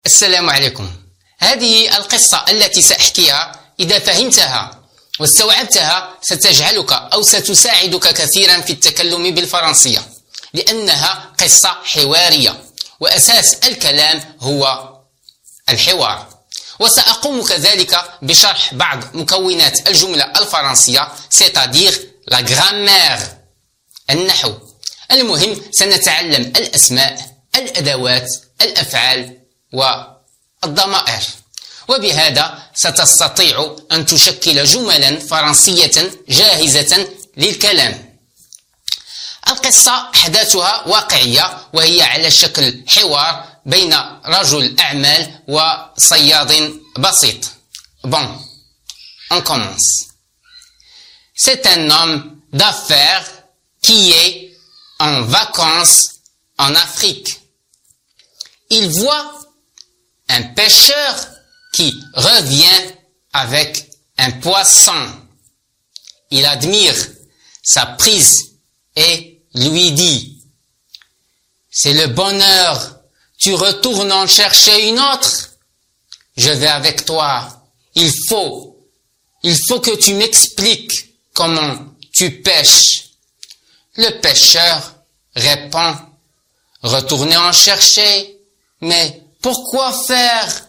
السلام عليكم. هذه القصة التي سأحكيها إذا فهمتها واستوعبتها ستجعلك أو ستساعدك كثيرا في التكلم بالفرنسية، لأنها قصة حوارية وأساس الكلام هو الحوار. وسأقوم كذلك بشرح بعض مكونات الجملة الفرنسية c'est-à-dire la grammaire، النحو. المهم سنتعلم الأسماء، الأدوات، الأفعال والضمائر، وبهذا ستستطيع أن تشكل جملا فرنسية جاهزة للكلام. القصة أحداثها واقعية وهي على شكل حوار بين رجل أعمال وصياد بسيط. Bon, on commence. C'est un homme d'affaires qui est en vacances en Afrique. Il voit un pêcheur qui revient avec un poisson. Il admire sa prise et lui dit: c'est le bonheur, tu retournes en chercher une autre? Je vais avec toi. Il faut que tu m'expliques comment tu pêches. Le pêcheur répond: retournez en chercher. Mais pourquoi faire?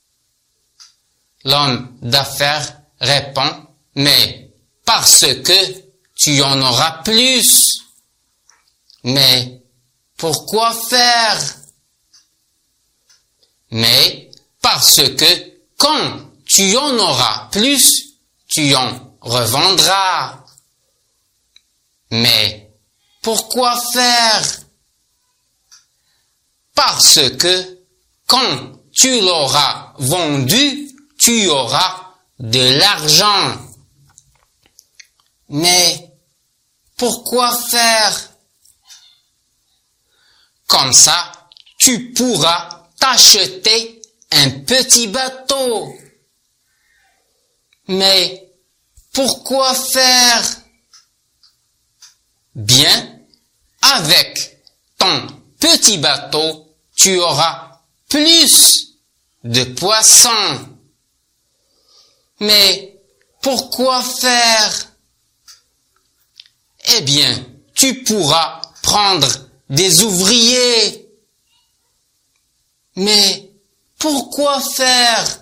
L'homme d'affaires répond: mais parce que tu en auras plus. Mais pourquoi faire? Mais parce que quand tu en auras plus, tu en revendras. Mais pourquoi faire? Parce que quand tu l'auras vendu, tu auras de l'argent. Mais pourquoi faire? Comme ça, tu pourras t'acheter un petit bateau. Mais pourquoi faire? Bien, avec ton petit bateau, tu auras plus de poissons. Mais pourquoi faire? Eh bien, tu pourras prendre des ouvriers. Mais pourquoi faire?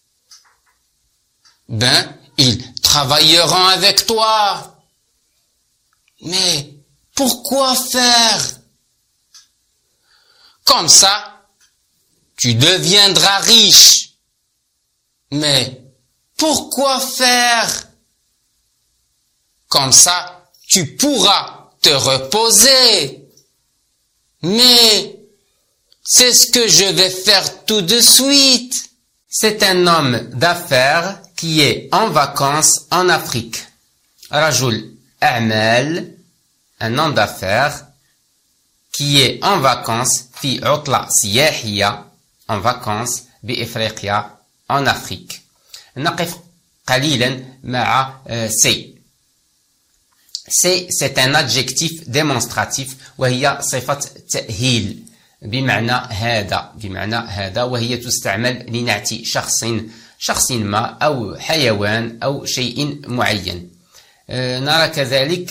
Ben, ils travailleront avec toi. Mais pourquoi faire? Comme ça, tu deviendras riche. Mais pourquoi faire? Comme ça, tu pourras te reposer. Mais c'est ce que je vais faire tout de suite. C'est un homme d'affaires qui est en vacances en Afrique. رجل أعمال, un homme d'affaires qui est en vacances في عطلة سياحية en vacances بإفريقيا en Afrique. نقف قليلا مع سي. c'est un adjectif démonstratif وهي صفة تأهيل بمعنى هذا وهي تستعمل لنعتي شخص ما أو حيوان أو شيء معين. نرى كذلك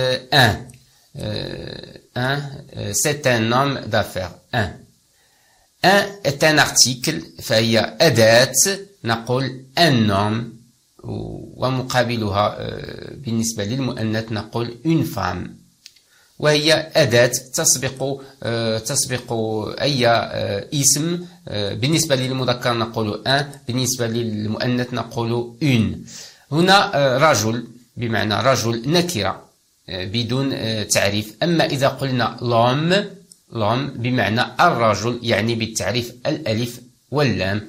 c'est un homme d'affaires. un est un article فهي أداة نقول un homme ومقابلها بالنسبة للمؤنث نقول une femme وهي أداة تسبق أي اسم. بالنسبة للمذكر نقول un، بالنسبة للمؤنث نقول une. هنا رجل بمعنى رجل نكرة بدون تعريف. أما إذا قلنا l'homme بمعنى الرجل يعني بالتعريف الألف واللام.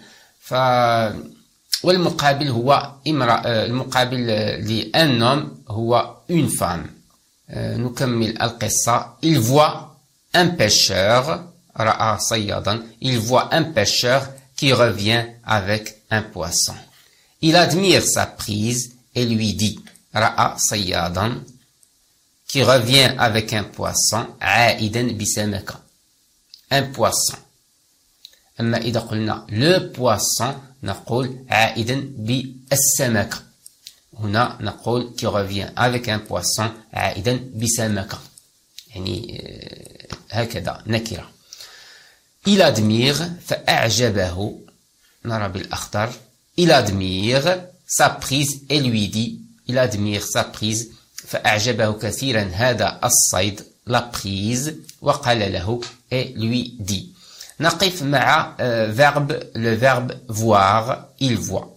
والمقابل هو امرأة، المقابل لأن homme هو une femme. نكمل القصة. Il voit un pêcheur، رأى صيادا. Il voit un pêcheur qui revient avec un poisson. Il admire sa prise et lui dit، رأى صيادا qui revient avec un poisson عائدا بسمكة. un poisson. أما إذا قلنا le poisson نقول عائدا بالسمكة. هنا نقول qui revient avec un poisson عائدا بسمكة، يعني هكذا نكرة. il admire فأعجبه، نرى بالأخضر. il admire sa prise et lui dit. il admire sa prise فأعجبه كثيرا هذا الصيد، la prise، وقال له et lui dit. نقف مع le verbe voir. il voit.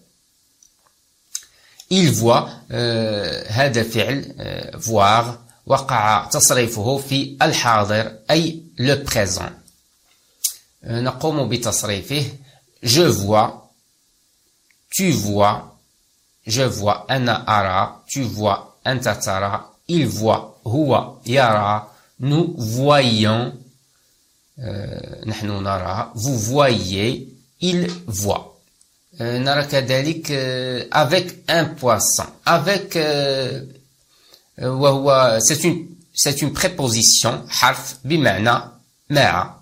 il voit هذا فعل voir وقع تصريفه في الحاضر أي le présent. نقوم بتصريفه je vois، tu vois، je vois، أنا أرى، tu vois، أنت ترى، il voit، هو يرى، nous voyons، نحن نرى، vous voyez، il voit. نرى كذلك avec un poisson. avec وهو c'est une préposition حرف بمعنى مع.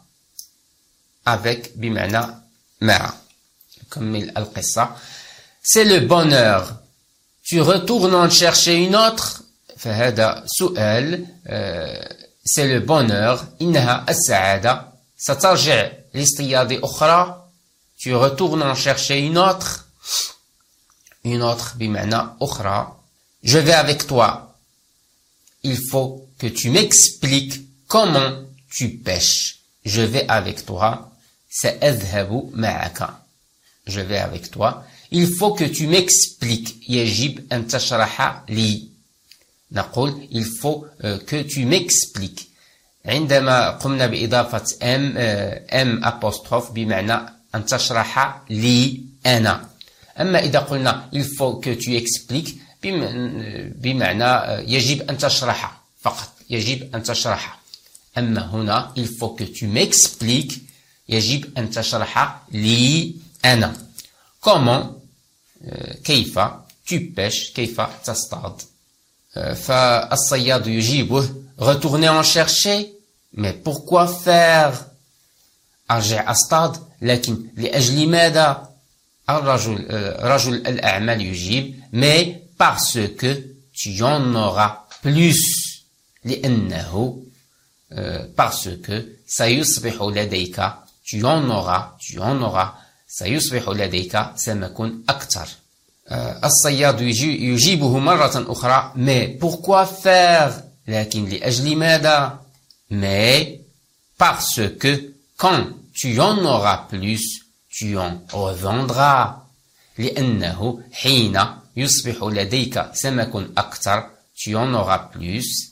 avec بمعنى مع. نكمل القصة. c'est le bonheur. tu retournes en chercher une autre. فهذا سؤال. c'est le bonheur. إنها السعادة. سترجع لاصطياد أخرى. tu retournes en chercher une autre. une autre بمعنى أخرى. je vais avec toi. il faut que tu m'expliques comment tu pêches. je vais avec toi. سأذهب معك. je vais avec toi. il faut que tu m'expliques. يجب أن تشرح لي. نقول il faut que tu m'expliques. عندما قمنا بإضافة M apostrophe بمعنى أن تشرح لي أنا. أما إذا قلنا il faut que tu expliques بمعنى يجب أن تشرح فقط. يجب أن تشرح. أما هنا il faut que tu m'expliques يجب أن تشرح لي أنا. comment كيف tu pêches كيف تصطاد. فالصياد يجيبه retourner en chercher. mais pourquoi faire. أرجع أصطاد لكن لأجل ماذا. رجل الأعمال يجيب mais parce que tu en auras plus. لأنه parce que سيصبح لديك tu en auras سيصبح لديك سمك أكثر. الصياد يجيبه مرة أخرى mais pourquoi faire. لكن لأجل ماذا. mais parce que quand tu en auras plus tu en revendras. لأنه حين يصبح لديك سمك أكثر tu en auras plus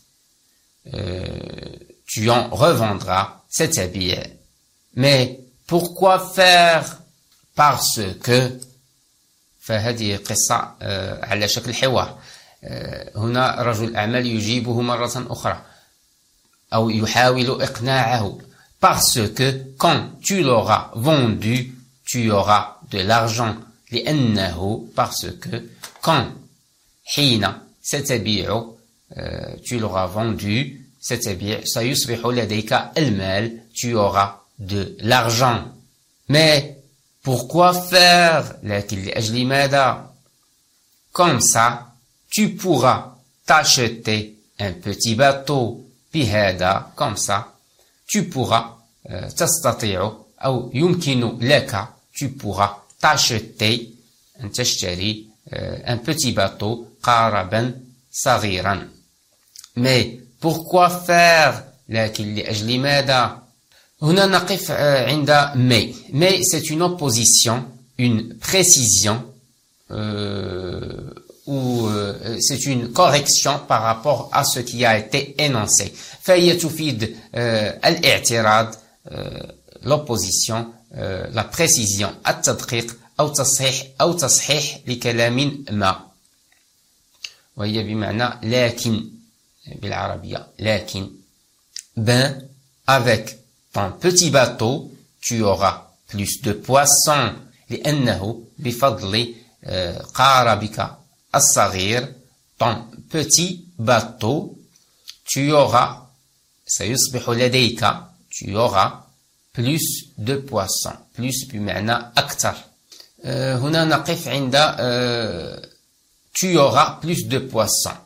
tu en revendras. c'est-à-dire mais pourquoi faire. parce que. فهذه قصة على شكل حوار. هنا رجل أعمال يجيبه مرة أخرى أو يحاول إقناعه. parce que quand tu l'auras vendu tu auras de l'argent. لأنه parce que quand حين ستبيع tu l'auras vendu ستبيع سيصبح لديك المال tu auras de l'argent. mais pourquoi faire. لكن لأجل ماذا. comme ça tu pourras t'acheter un petit bateau. بهذا comme ça tu pourras تستطيع أو يمكن لك tu pourras t'acheter أن تشتري un petit bateau قاربا صغيرا. mais pourquoi faire. لكن لأجل ماذا. هنا نقف عند mais c'est une opposition, une précision ou c'est une correction par rapport à ce qui a été énoncé. فهي تفيد الاعتراض l'opposition la précision التدقيق أو تصحيح لكلام ما. وهي بمعنى لكن بالعربية. لكن ben avec ton petit bateau tu auras plus de poissons. لأنه بفضل قاربك الصغير ton petit bateau tu auras سيصبح لديك tu auras plus de poissons. plus بمعنى أكثر. هنا نقف عند tu auras plus de poissons.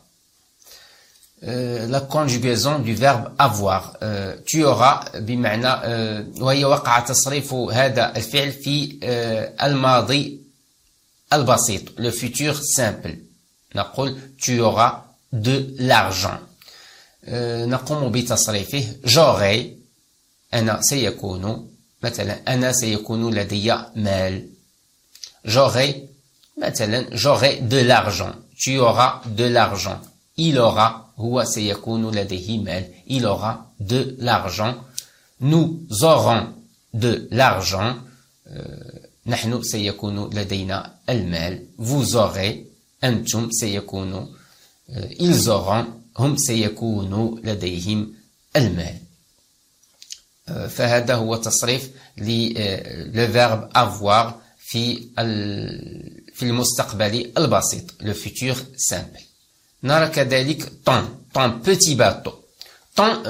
La conjugaison du verbe avoir. tu auras بمعنى وهي وقع تصريف هذا الفعل في الماضي البسيط, le futur simple. نقول tu auras de l'argent. نقوم بتصريفه j'aurai. أنا سيكون مثلا أنا سيكون لدي مال. j'aurai مثلا j'aurai de l'argent. tu auras de l'argent. il aura هو سيكون لديه مال. il aura de l'argent. nous aurons de l'argent. نحن سيكون لدينا المال. vous aurez أنتم سيكون. ils auront هم سيكون لديهم المال. فهذا هو تصريف le verbe avoir في المستقبل البسيط, le futur simple. نرى كذلك ton petit bateau. ton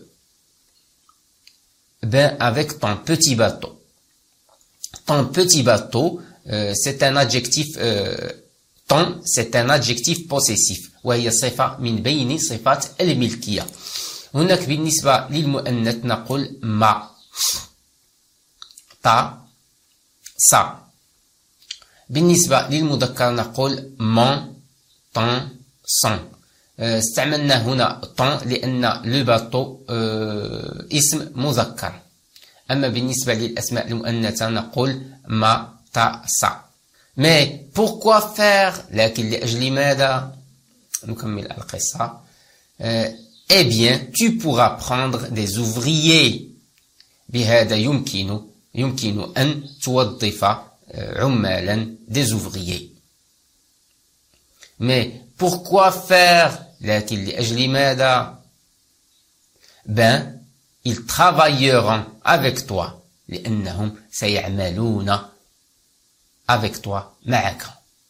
avec ton petit bateau. Ton petit bateau, c'est un adjectif. ton, c'est un adjectif possessif. وهي صفة من بين صفات الملكية. هناك بالنسبة للمؤنث نقول ما, ta, sa. بالنسبة للمذكر نقول mon, ton, son. استعملنا هنا ton لأن le bateau اسم مذكر. أما بالنسبة للأسماء المؤنثة نقول ما, ta, sa. Mais pourquoi faire, لكن لأجل ماذا؟ نكمل القصة. Eh bien, tu pourras prendre des ouvriers. بهذا يمكن أن توظف عمالا, des ouvriers. Mais pourquoi faire, لكن لأجل ماذا؟ Ben, ils travailleront avec toi. لأنهم سيعملون avec toi, معك.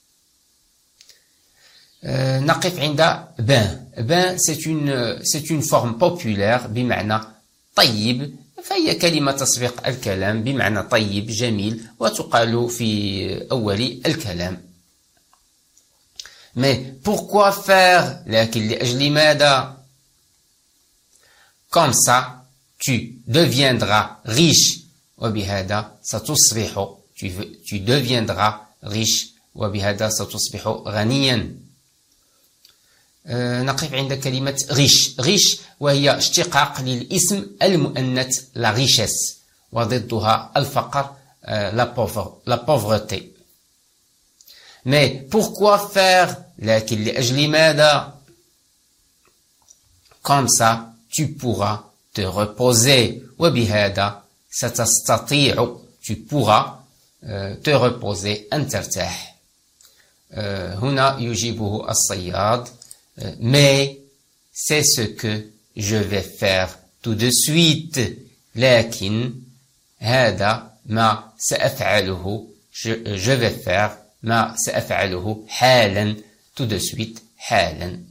نقف عند ben, c'est une forme populaire بمعنى طيب, فهي كلمة تسبق الكلام بمعنى طيب جميل, وتقال في أول الكلام. Mais pourquoi faire, لكن لأجل ماذا؟ Comme ça, tu deviendras riche, وبهذا ستصبح. tu deviendras riche, وبهذا ستصبح غنيا. نقف عند كلمة riche وهي اشتقاق للاسم المؤنث la richesse, وضدها الفقر la pauvreté. Mais pourquoi faire, لكن لأجل ماذا؟ Comme ça, tu pourras te reposer, وبهذا ستستطيع. tu pourras te reposer, أن ترتاح. هنا يجيبه الصياد. Mais c'est ce que je vais faire tout de suite. لكن هذا ما سأفعله. je vais faire ما سأفعله حالا, tout de suite, حالا.